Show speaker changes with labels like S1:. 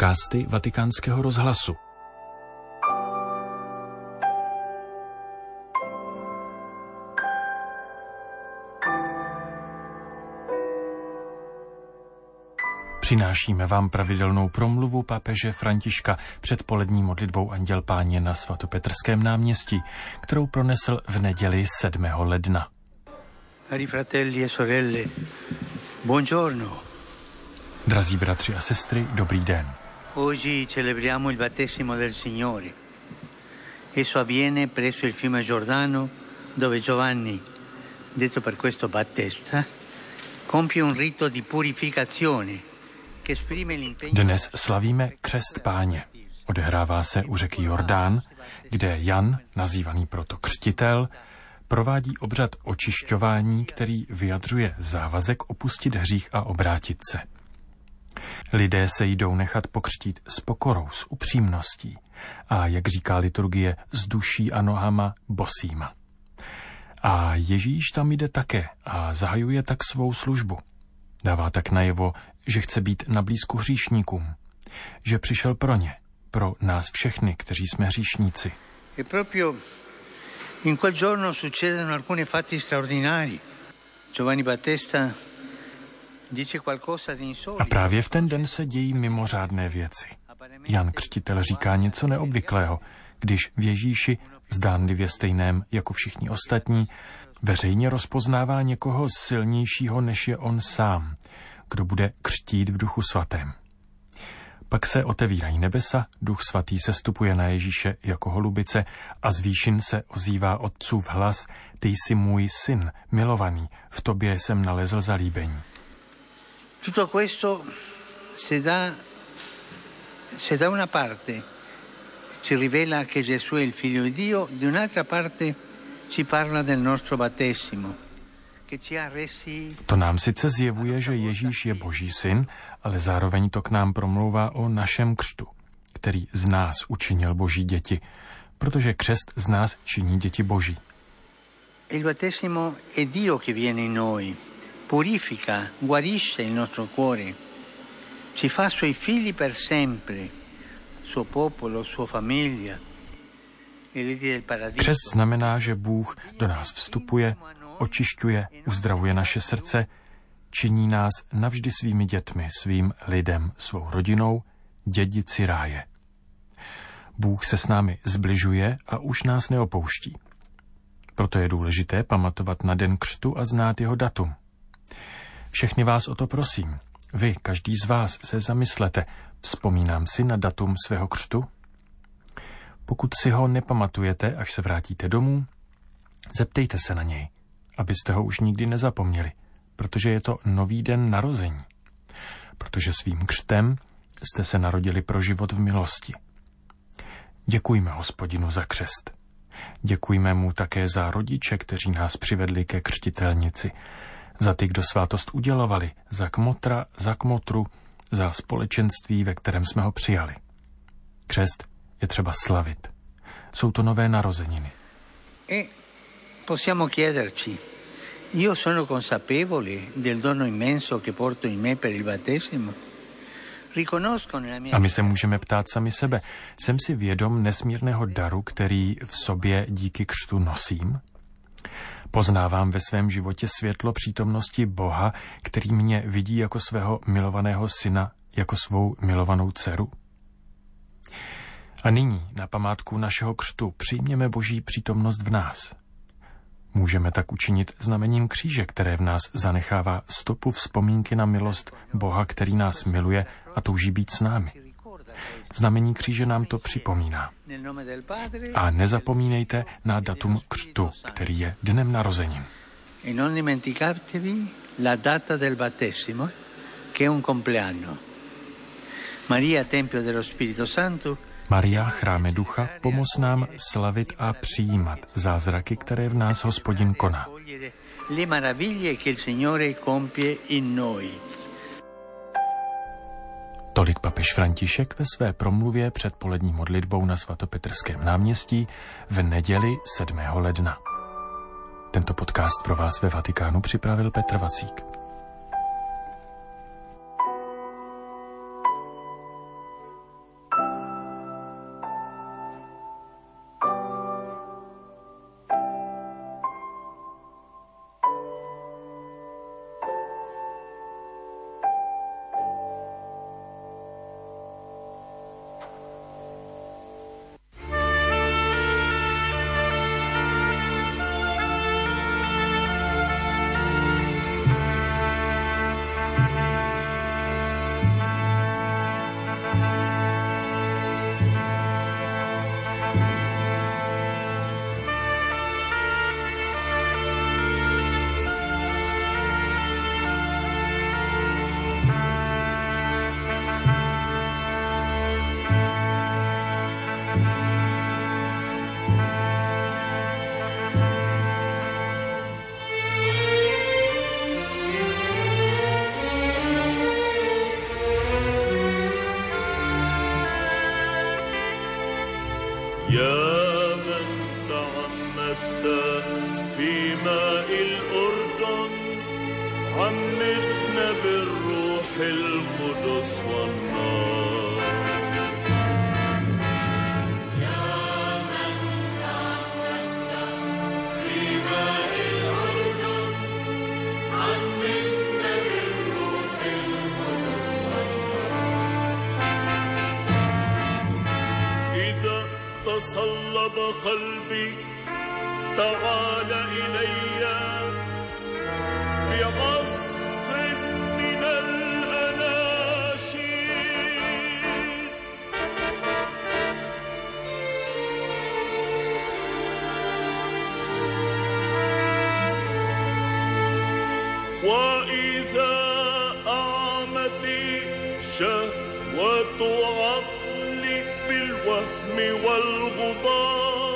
S1: Podcasty Vatikánského rozhlasu. Přinášíme vám pravidelnou promluvu papeže Františka před polední modlitbou Anděl Páně na svatopetrském náměstí, kterou pronesl v neděli 7. ledna.
S2: Cari fratelli e sorelle, buongiorno.
S1: Drazí bratři a sestry, dobrý den.
S2: Oggi celebriamo il battesimo del Signore. Esso avviene presso il fiume Giordano, dove Giovanni, detto per questo Battista, compie un rito di purificazione che esprime l'impegno.
S1: Dnes slavíme křest Páně. Odehrává se u řeky Jordán, kde Jan, nazývaný proto křtitel, provádí obřad očišťování, který vyjadřuje závazek opustit hřích a obrátit se. Lidé se jdou nechat pokřtít s pokorou, s upřímností a, jak říká liturgie, s duší a nohama bosýma. A Ježíš tam jde také a zahajuje tak svou službu. Dává tak najevo, že chce být na blízku hříšníkům, že přišel pro ně, pro nás všechny, kteří jsme hříšníci.
S2: E proprio in quel giorno succedono alcuni fatti straordinari. Giovanni Battista dice qualcosa di insolito.
S1: A právě v ten den se dějí mimořádné věci. Jan Křtitel říká něco neobvyklého, když v Ježíši, zdánlivě stejném jako všichni ostatní, veřejně rozpoznává někoho silnějšího, než je on sám, kdo bude křtít v Duchu svatém. Pak se otevírají nebesa, Duch svatý sestupuje na Ježíše jako holubice a z výšin se ozývá Otcův hlas: Ty jsi můj syn, milovaný, v tobě jsem nalezl zalíbení.
S2: Tutto questo se da una parte ci rivela che Gesù è il figlio di Dio, di un'altra parte ci parla del nostro battesimo.
S1: To nám sice zjevuje, že Ježíš je Boží syn, ale zároveň to k nám promlouvá o našem křtu, který z nás učinil Boží děti, protože křest z nás činí děti Boží.
S2: Il battesimo è Dio che viene in noi, purifica, guarisce il nostro cuore, ci fa suoi figli per sempre, suo popolo, sua famiglia.
S1: Křest znamená, že Bůh do nás vstupuje, očišťuje, uzdravuje naše srdce, činí nás navždy svými dětmi, svým lidem, svou rodinou, dědici ráje. Bůh se s námi zbližuje a už nás neopouští. Proto je důležité pamatovat na den křtu a znát jeho datum. Všechny vás o to prosím. Vy, každý z vás, se zamyslete, vzpomínám si na datum svého křtu? Pokud si ho nepamatujete, až se vrátíte domů, zeptejte se na něj, abyste ho už nikdy nezapomněli, protože je to nový den narození. Protože svým křtem jste se narodili pro život v milosti. Děkujme Hospodinu za křest. Děkujme mu také za rodiče, kteří nás přivedli ke křtitelnici, za ty, kdo svátost udělovali, za kmotra, za kmotru, za společenství, ve kterém jsme ho přijali. Křest je třeba slavit. Jsou to nové narozeniny.
S2: Possiamo chiederci, io sono consapevole del dono immenso che porto in me per il battesimo?
S1: A my se můžeme ptát sami sebe, jsem si vědom nesmírného daru, který v sobě díky křtu nosím? Poznávám ve svém životě světlo přítomnosti Boha, který mě vidí jako svého milovaného syna, jako svou milovanou dceru? A nyní, na památku našeho křtu, přijměme Boží přítomnost v nás. Můžeme tak učinit znamením kříže, které v nás zanechává stopu vzpomínky na milost Boha, který nás miluje a touží být s námi. Znamení kříže nám to připomíná. A nezapomínejte na datum křtu, který je dnem narozenin.
S2: E non dimenticatevi la data del battesimo, che è un compleanno. Maria, Tempio dello Spirito Santo,
S1: Maria, chráme ducha, pomoz nám slavit a přijímat zázraky, které v nás Hospodin koná.
S2: Le meraviglie che il Signore compie in noi.
S1: Tolik papež František ve své promluvě před polední modlitbou na svatopetrském náměstí v neděli 7. ledna. Tento podcast pro vás ve Vatikánu připravil Petr Vacík.
S3: يا من تعمدت في ماء الأردن عمدنا بالروح القدس والنار.
S4: يا من تعمدت في ماء الأردن عمدنا بالروح القدس والنار.
S3: إذا تصلب قلبي تعال إلي بعصف من الأناشيد. وإذا أعمتي شهوة عقلي بالوهم والغبار